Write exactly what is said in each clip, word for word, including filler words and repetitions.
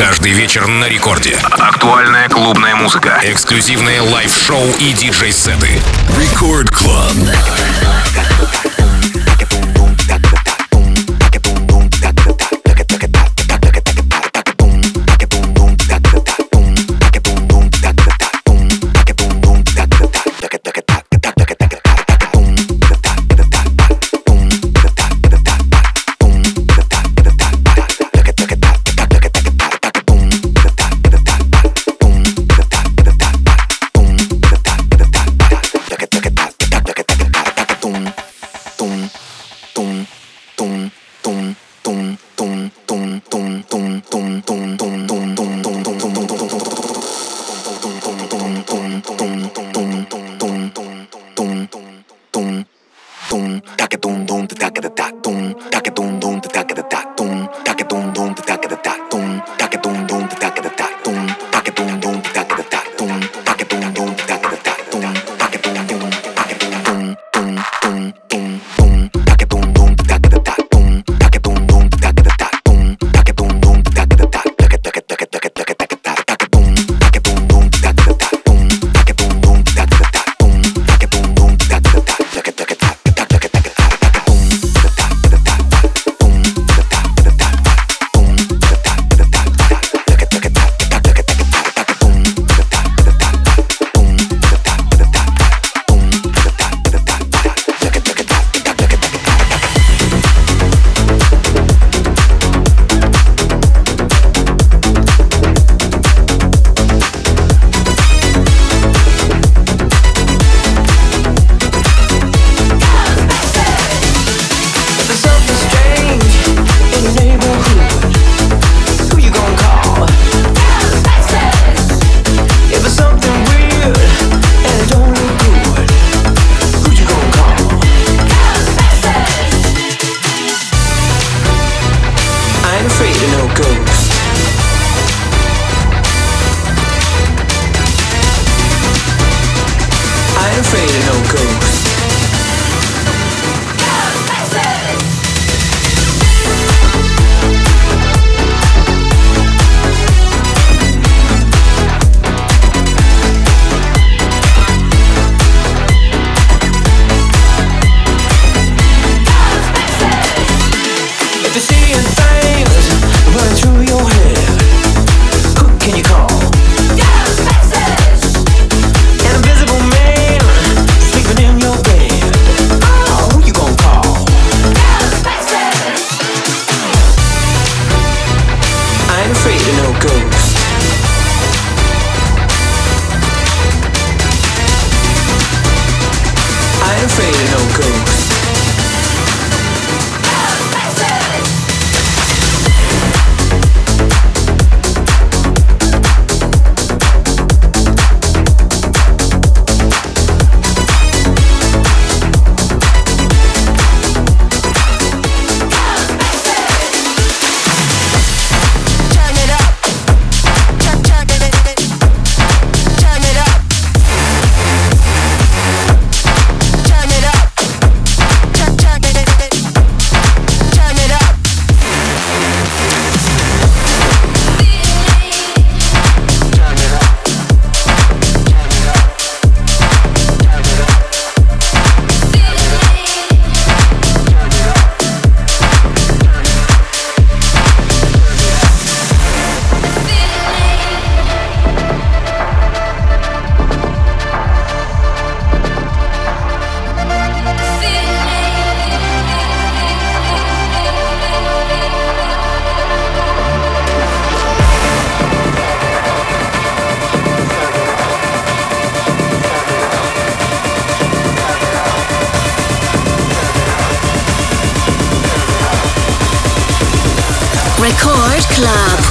Каждый вечер на рекорде. Актуальная клубная музыка. Эксклюзивные лайв-шоу и диджей-сеты. Record Club. Record Club.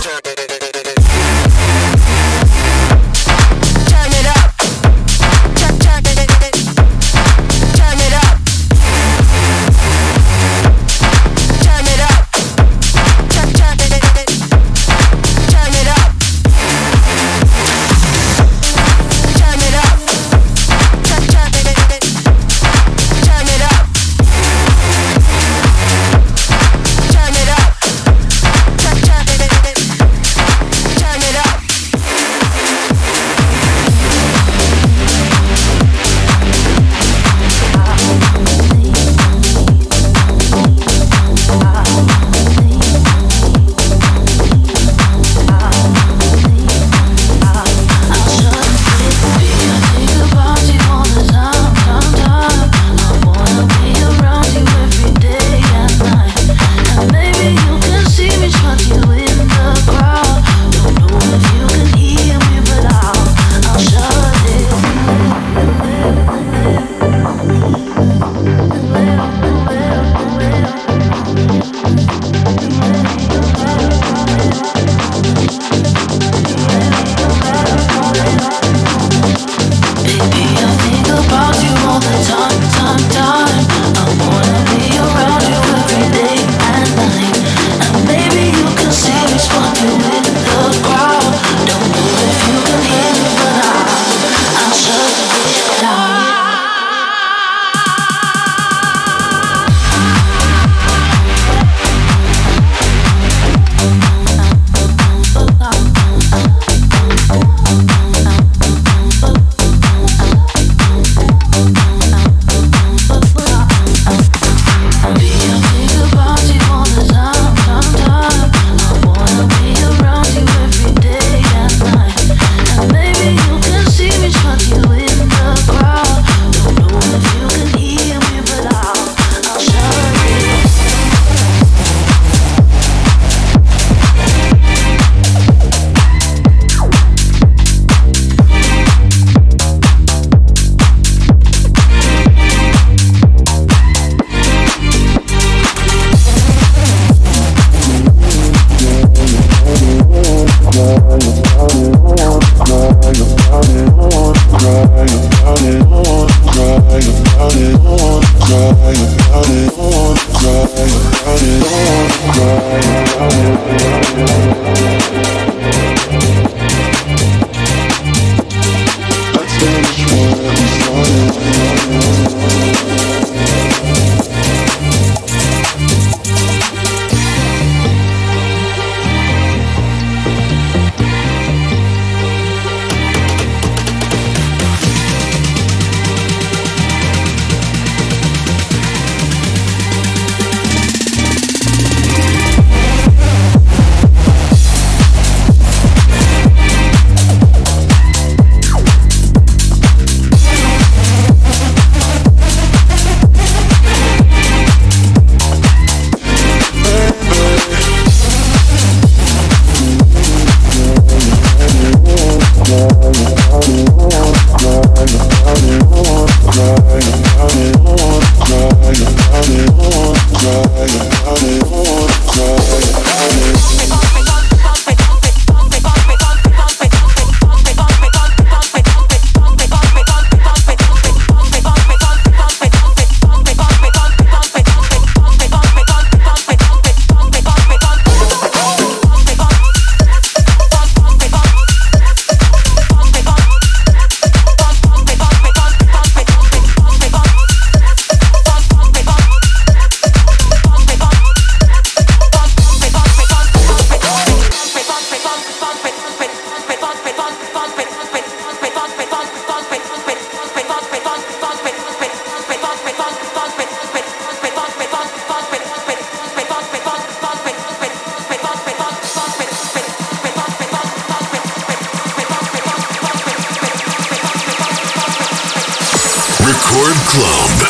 Record Club.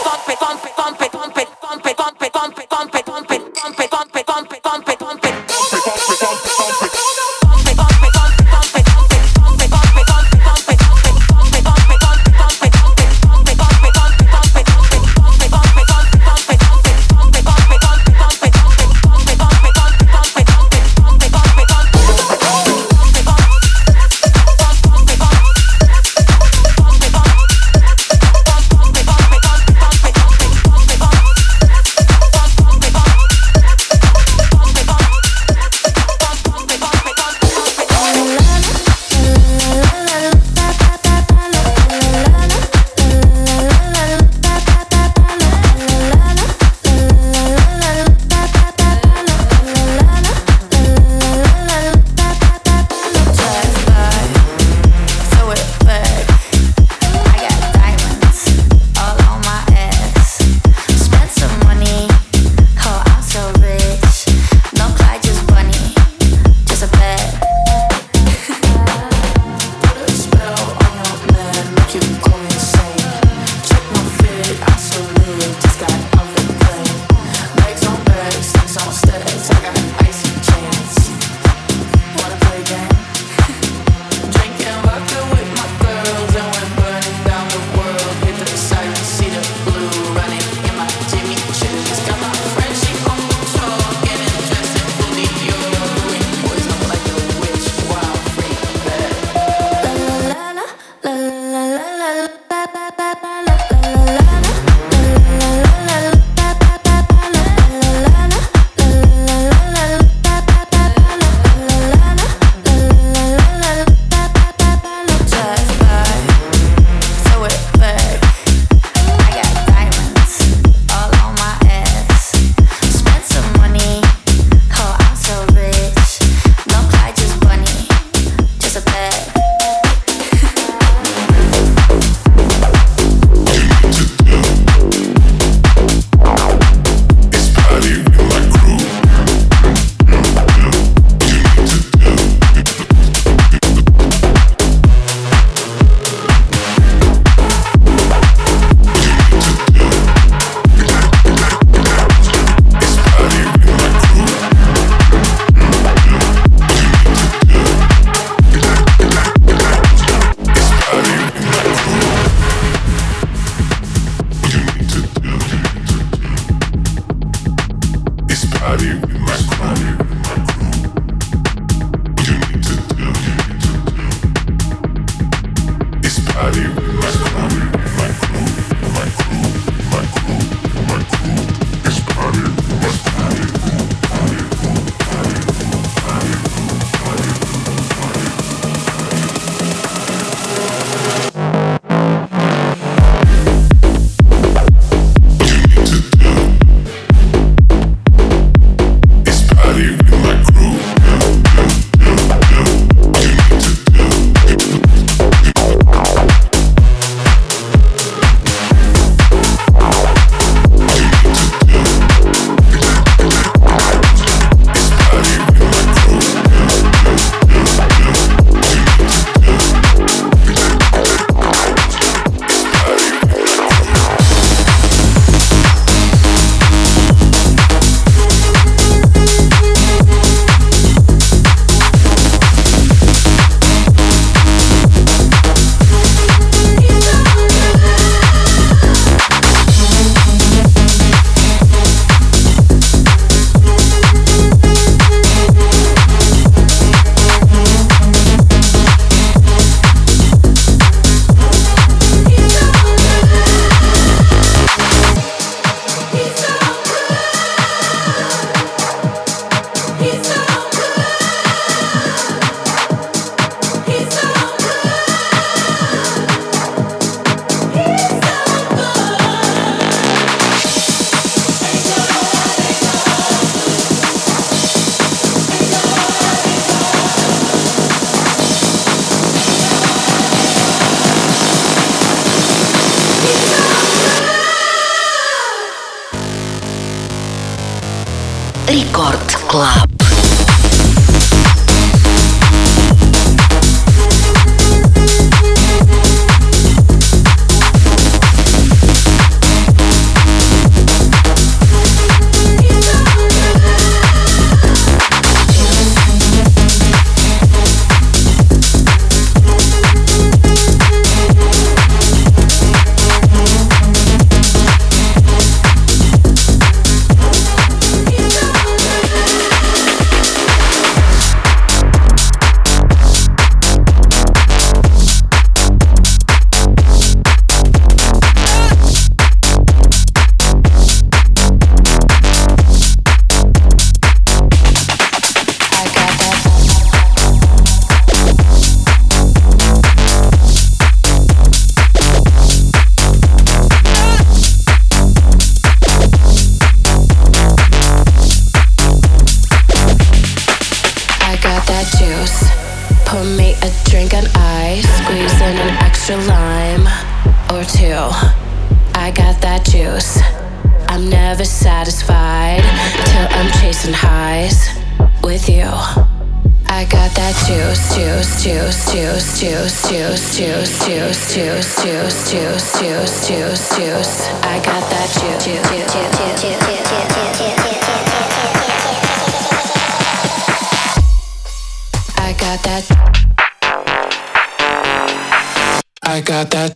Рекорд Клаб. Pour me a drink on ice, squeeze in an extra lime or two. I got that juice. I'm never satisfied till I'm chasing highs with you. I got that juice, juice, juice, juice, juice, juice, juice, juice, juice, juice, juice, juice, juice, juice. I got that juice, juice, juice, juice, juice, juice. I got that. I got that.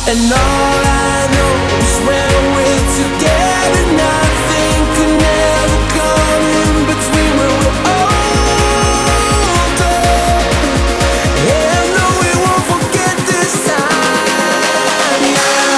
And all I know is when we're together, nothing could never come in between when we're older. Yeah, no, we won't forget this time, yeah.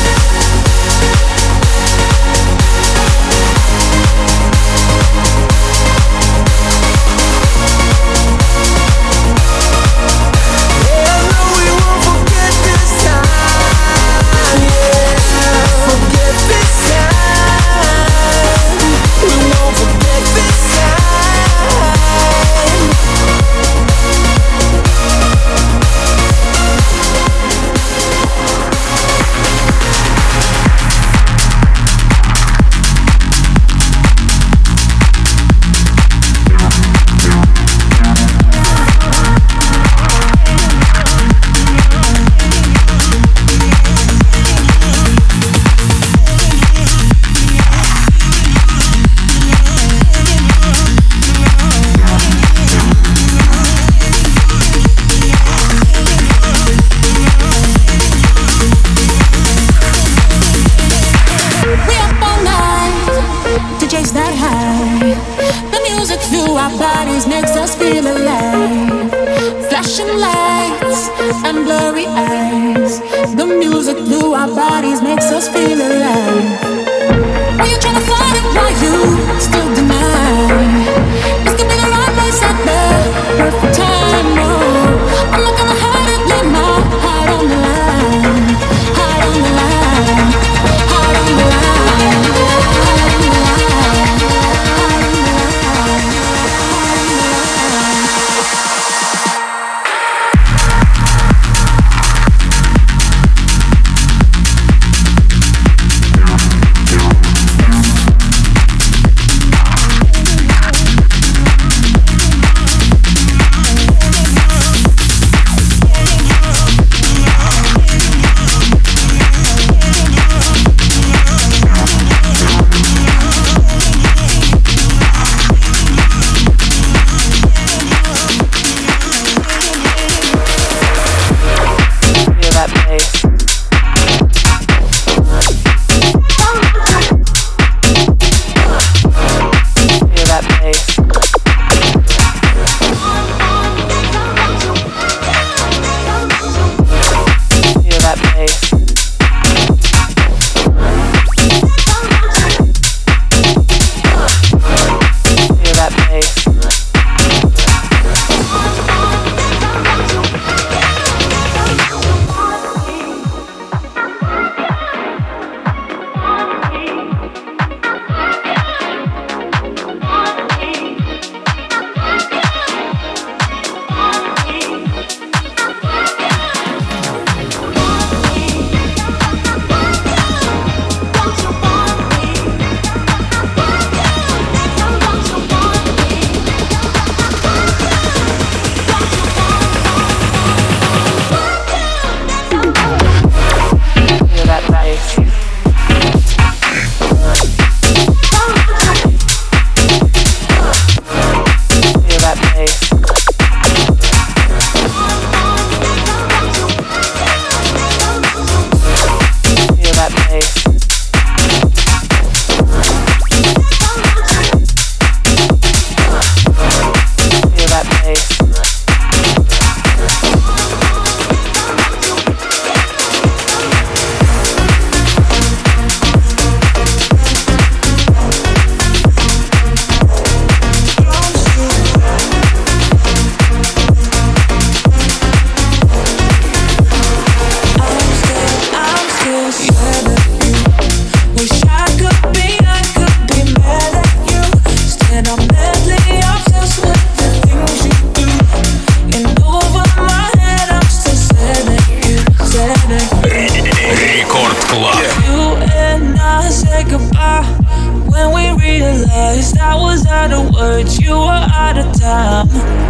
words, you were out of time.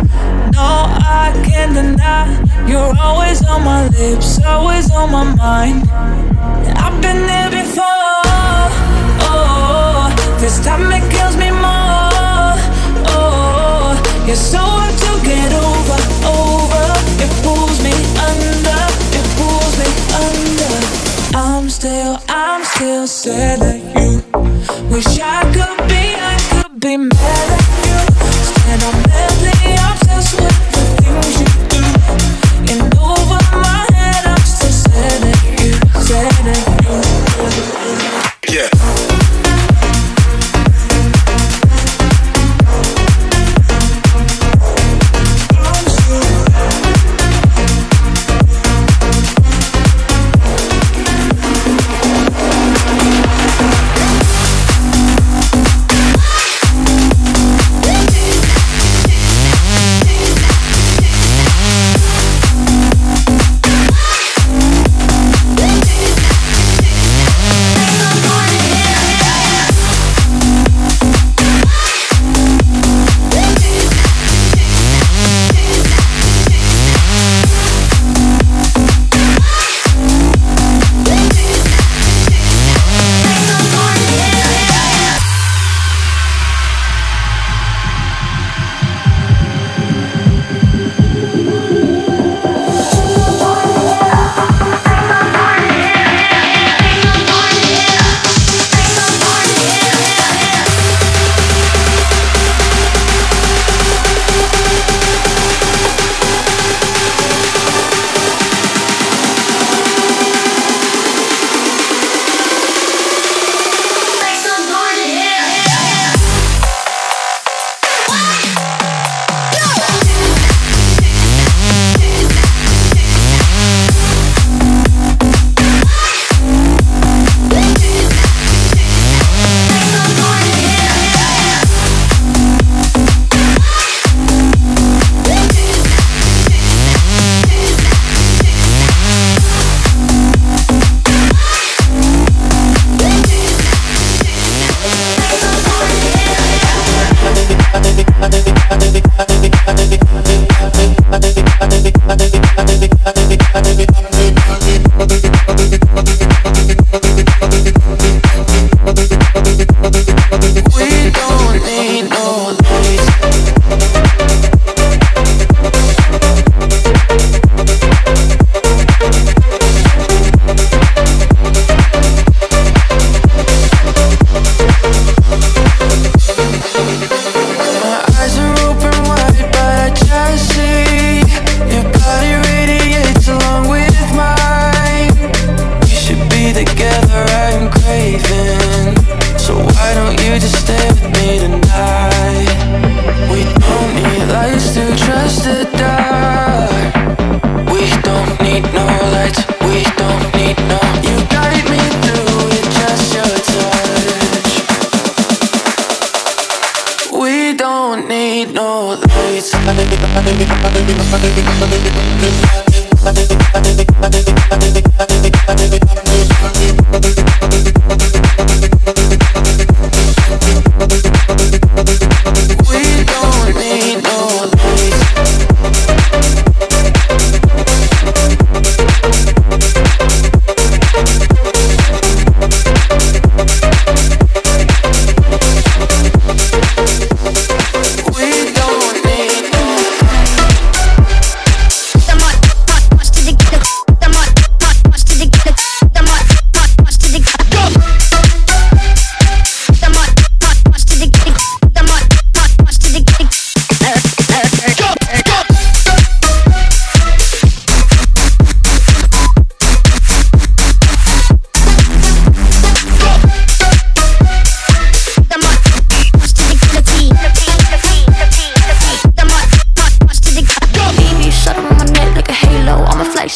No, I can't deny, you're always on my lips, always on my mind. I've been there before, oh, this time it kills me more, oh, you're so hard to get over, over. It pulls me under, it pulls me under.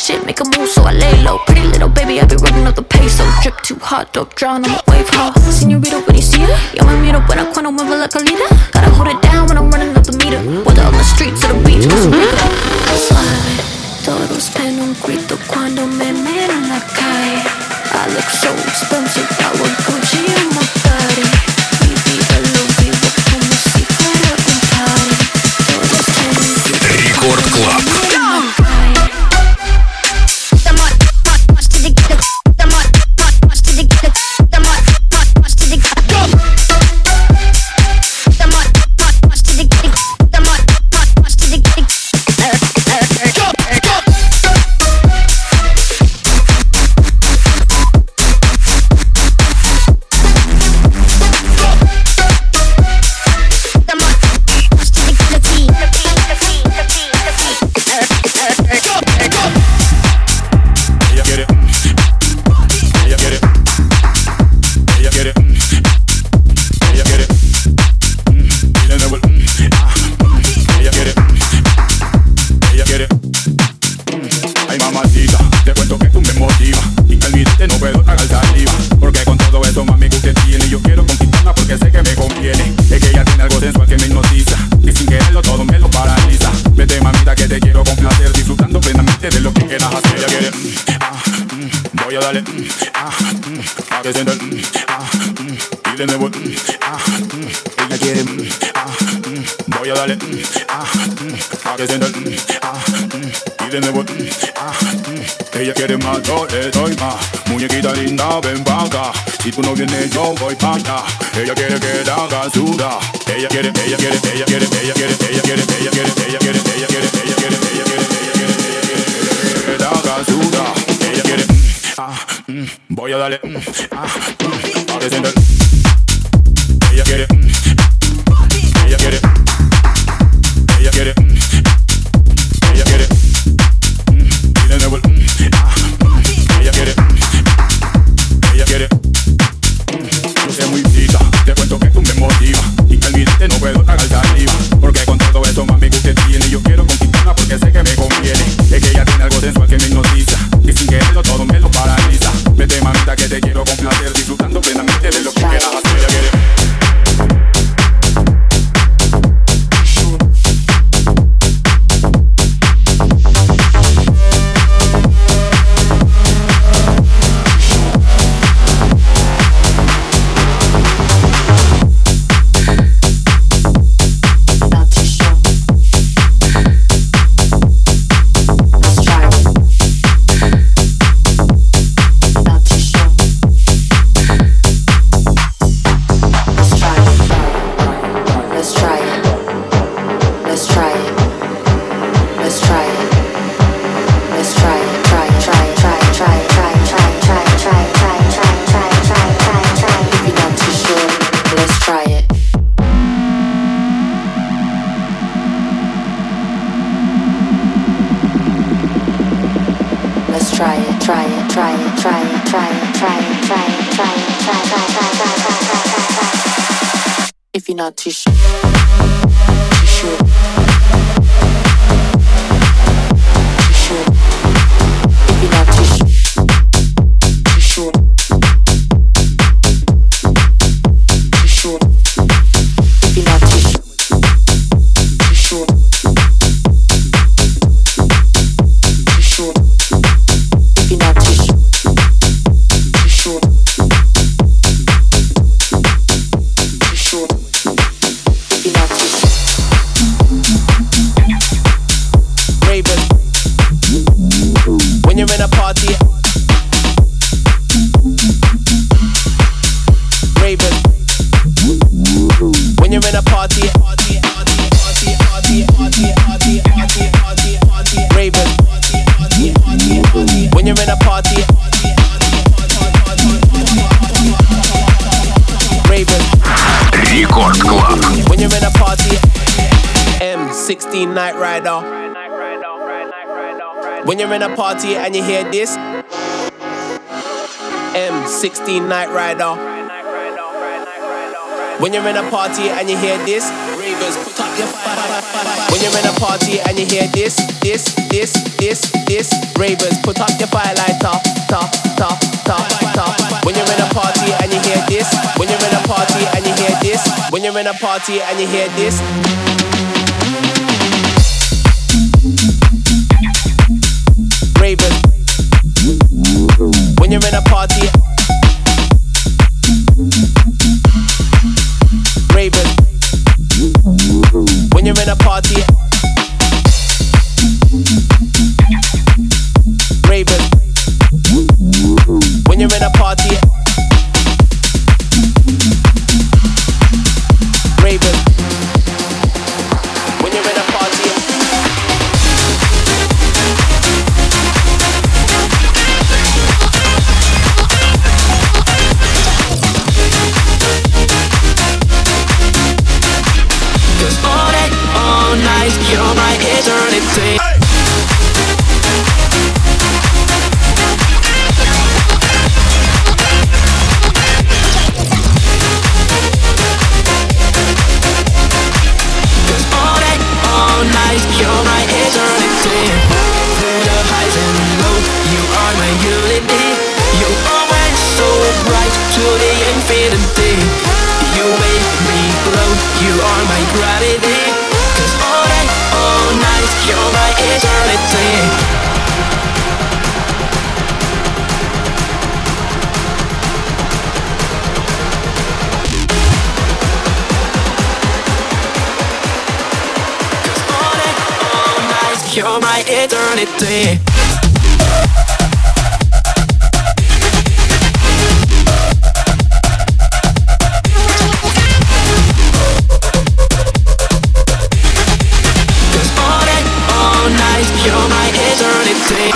shit, make a move, so I lay low. Pretty little baby, I be running up the peso. Drip too hot, dope drown on my wave, huh? Señorita, when you see her, yo me miro buena cuando muevo la colita. Gotta hold it down when I'm running up the meter. Whether on the streets or the beach, cause we go suave. Todos pen un grito cuando me miran en la calle. I look so expensive, I would Gucci in my body. Mi vida lo vivo como si fuera un party. Todos pen un grito. Рекорд Клаб. Ella quiere más, yo le doy más. Muñequita linda, ven pa' acá. Si tú no vienes, yo voy pa' allá. Ella quiere que la haga sudar. Ella quiere, ella quiere, ella quiere, ella quiere, ella quiere, ella quiere, ella quiere, ella quiere, ella quiere, ella quiere, ella quiere que la haga sudar. Ella quiere, ah, voy a darle, ah, a descender. Ella quiere, ella quiere, ella quiere, ella quiere. Y de nuevo, ella quiere, ella quiere. Yo sé muy pita, te cuento que tú me motivas. Y que al mirarte no puedo tragar saliva. Porque con todo eso mami usted tiene. Y yo quiero conquistarla porque sé que me conviene. Es que ella tiene algo sensual que me hipnotiza. Y sin quererlo todo me lo paraliza. Vete mamita que te quiero complacer. Disfrutando plenamente de lo que quieras hacer. Ella quiere. If you're not too sure, too sure, too sure. If you're not too sure, too sure, too sure. If you're not too sure, too sure, too sure. If you're not too sure, too sure, too sure. Raven, when you're in a party. Raven, when you're in a party. Raven, when you're in a party. Raven, Рекорд Клаб. when you're in a party. M sixteen Night Rider. When you're in a party and you hear this. M sixteen Night Rider. When you're in a party and you hear this, ravers, put up your fire. When you're in a party and you hear this, this, this, this, this, ravers, put up your firelighter, ta, ta, ta, ta. When you're in a party and you hear this, when you're in a party and you hear this, when you're in a party and you hear this. Ravers. When you're in a party. Ravers. When you're in a party. Ravers. When you're in a party. Ravers. When you're in a party. Cause all day, all night, you're my eternity. You're my eternity. Through the highs and lows, you are my unity. You're always so bright to the infinity. You make me glow, you are my gravity. Cause all day, all night, you're my eternity. You're my eternity. Cause all day, all night, you're my eternity.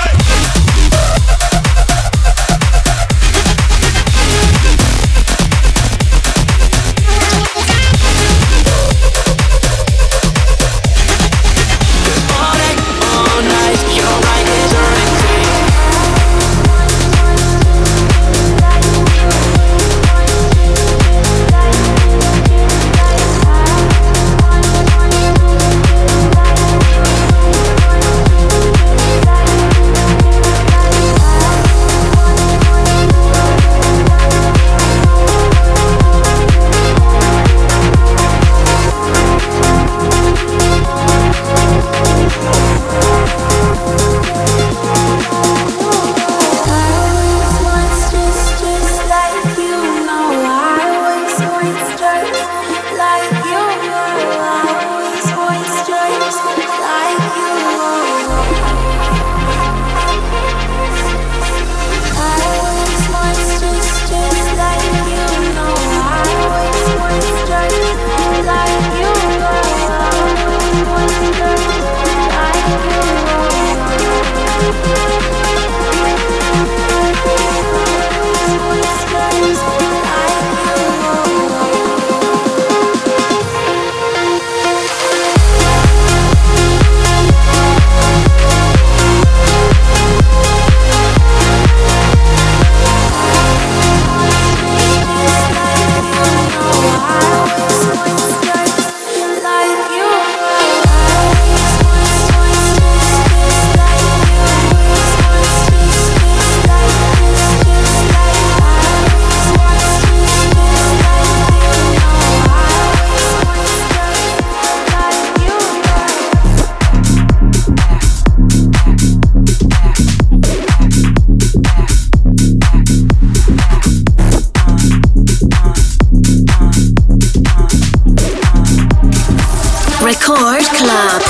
Record Club.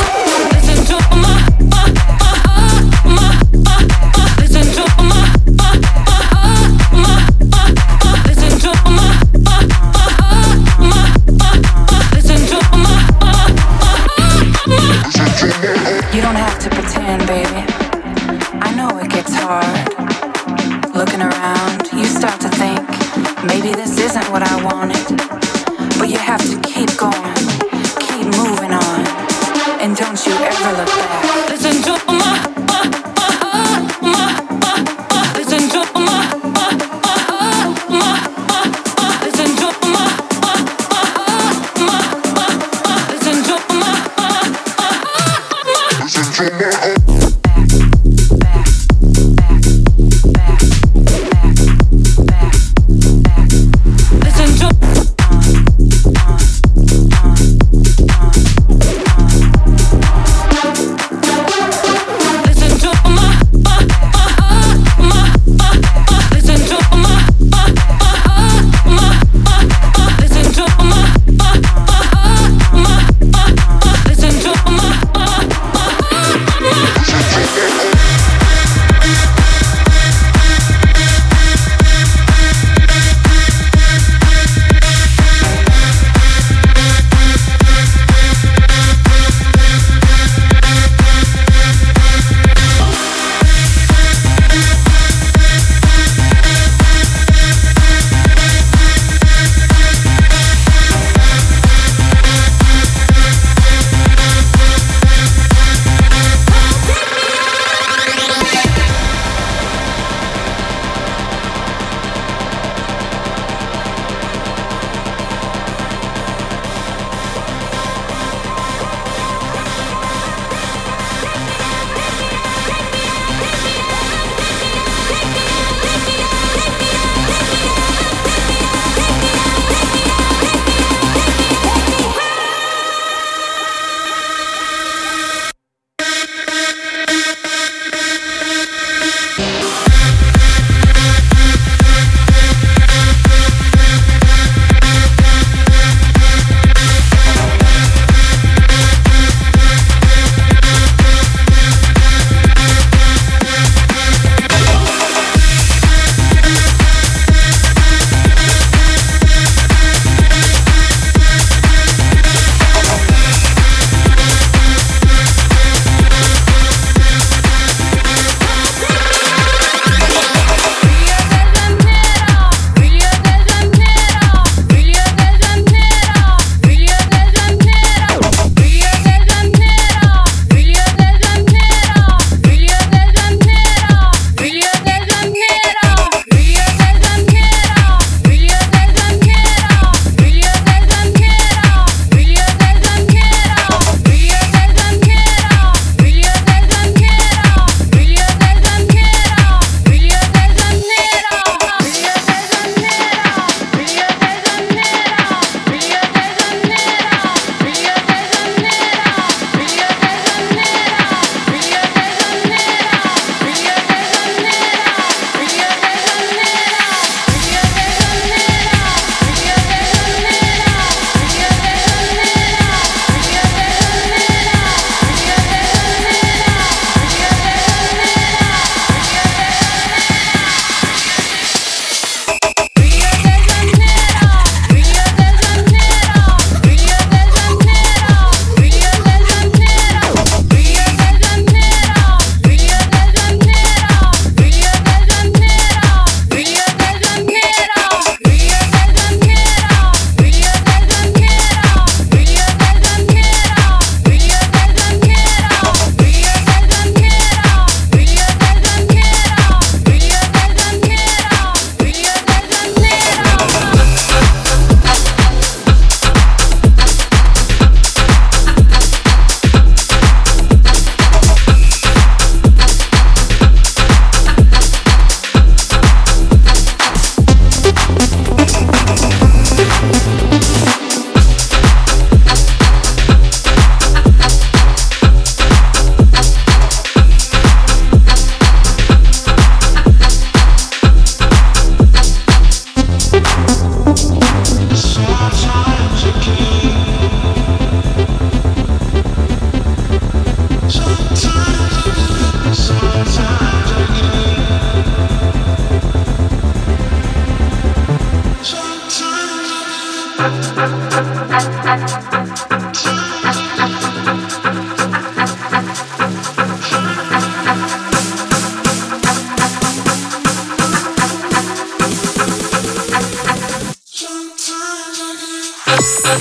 You don't have to pretend, baby. I know it gets hard. Looking around, you start to think, maybe this isn't what I wanted. But you have to keep going, keep moving on, and don't you ever look back. Listen to my, my, my, my, my, listen to my, my, my, my, my, listen to my, my, my,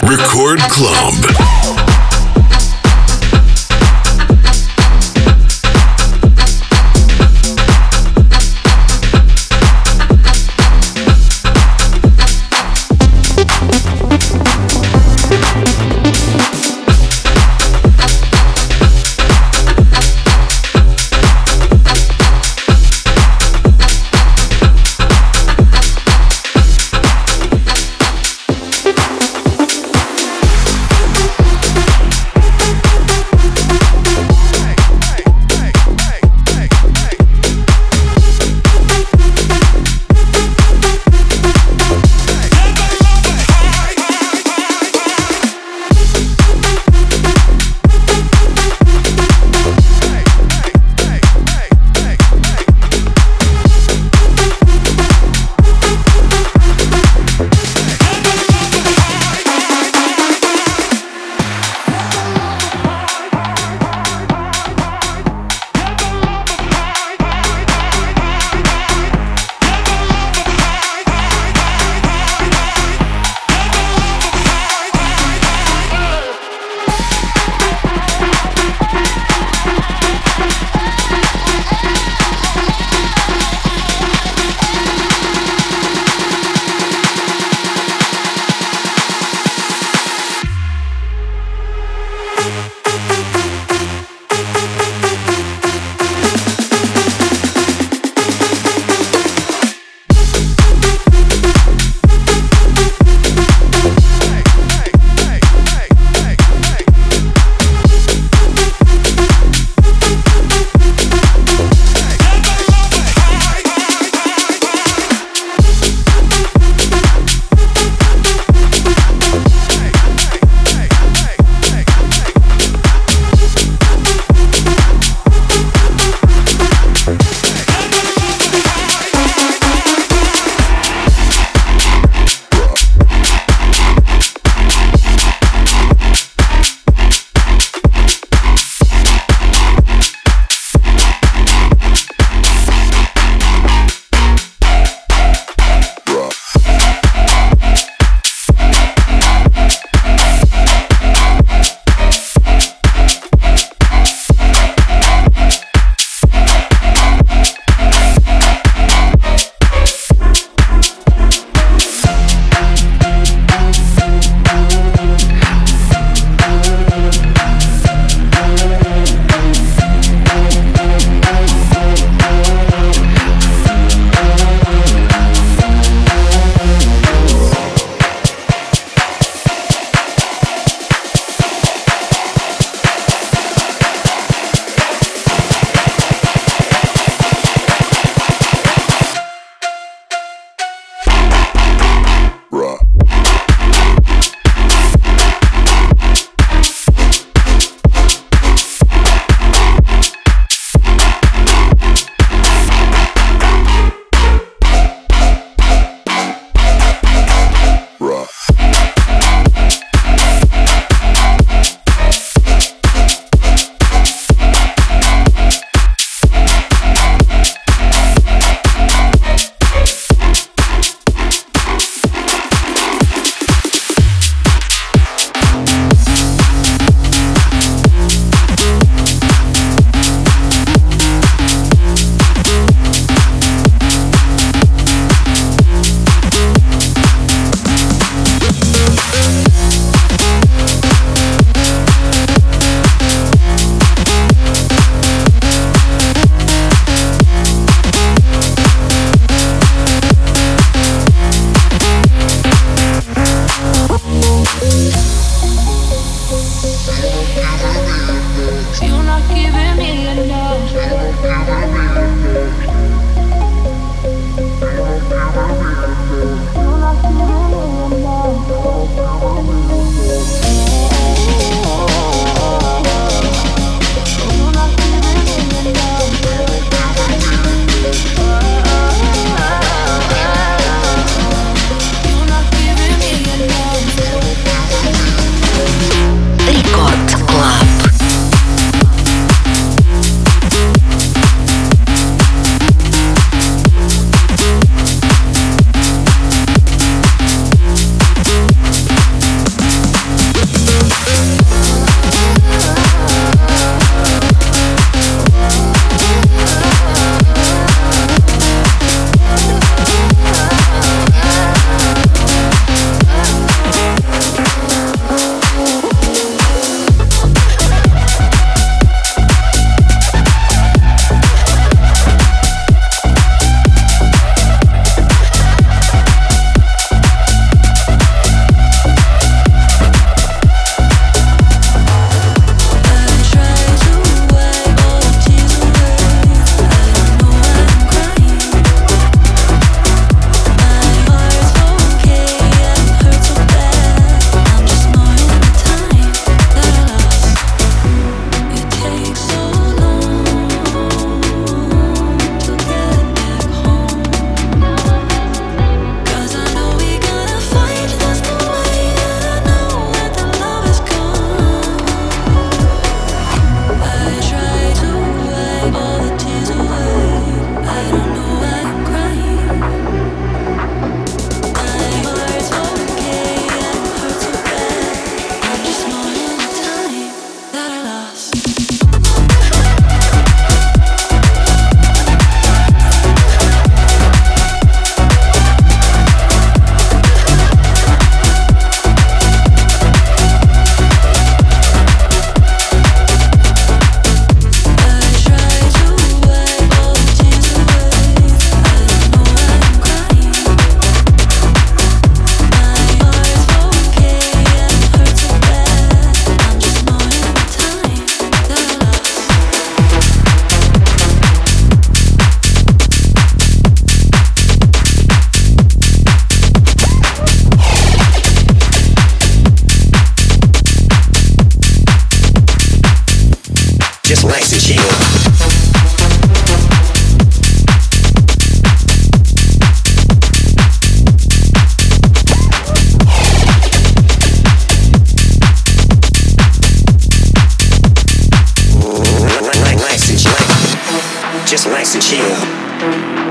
Record Club.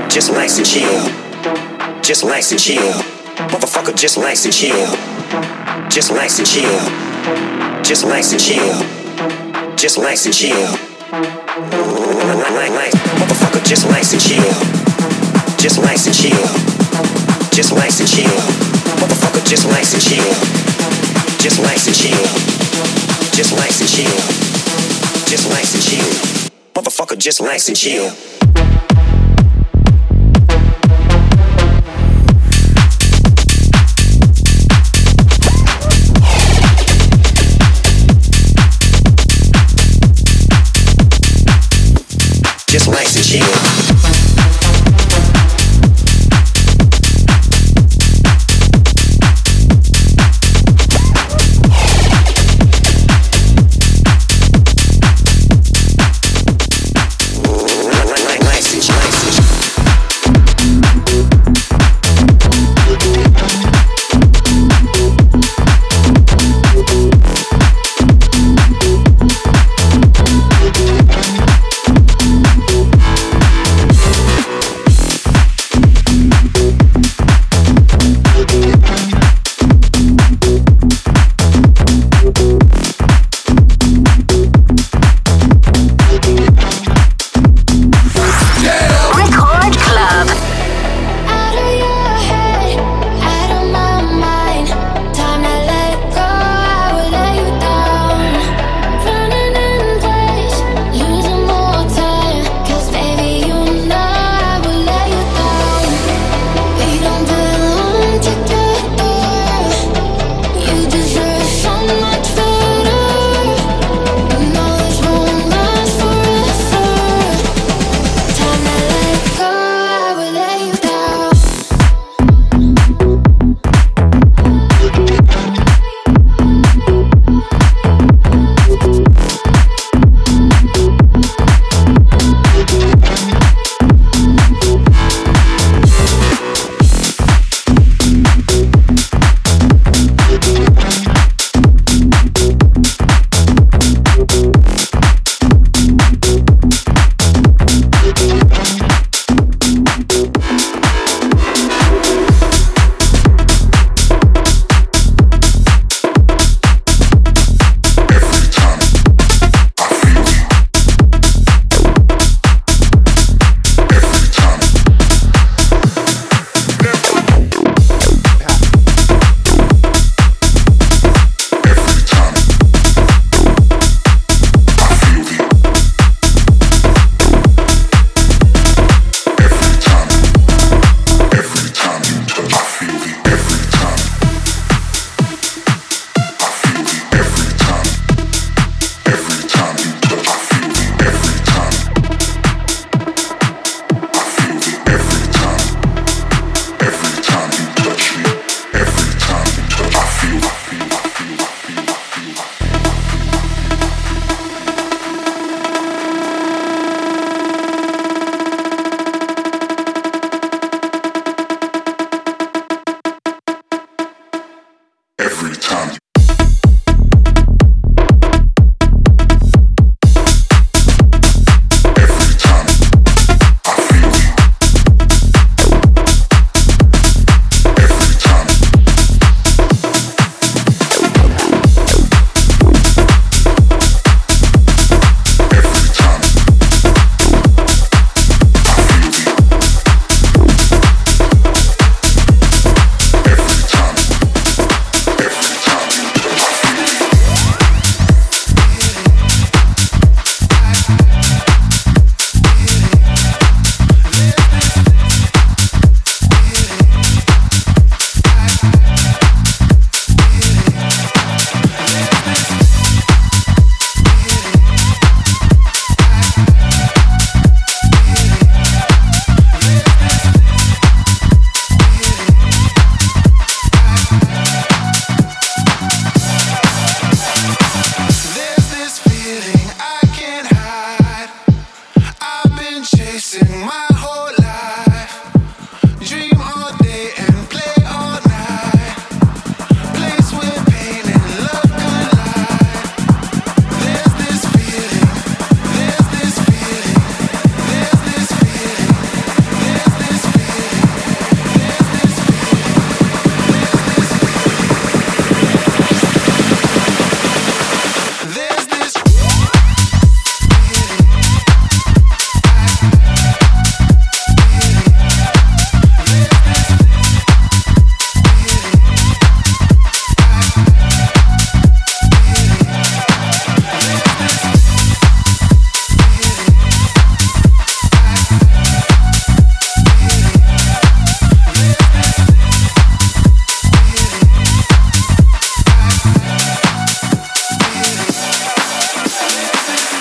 just relax and chill. Just relax and chill. Motherfucker, just relax and chill. Just relax and chill. Just relax and chill. Just relax and chill. Motherfucker, just relax and chill. Just relax and chill. Just relax and chill. Motherfucker, just relax and chill. Just relax and chill. Just relax and chill. Just relax and chill. Motherfucker, just relax and chill.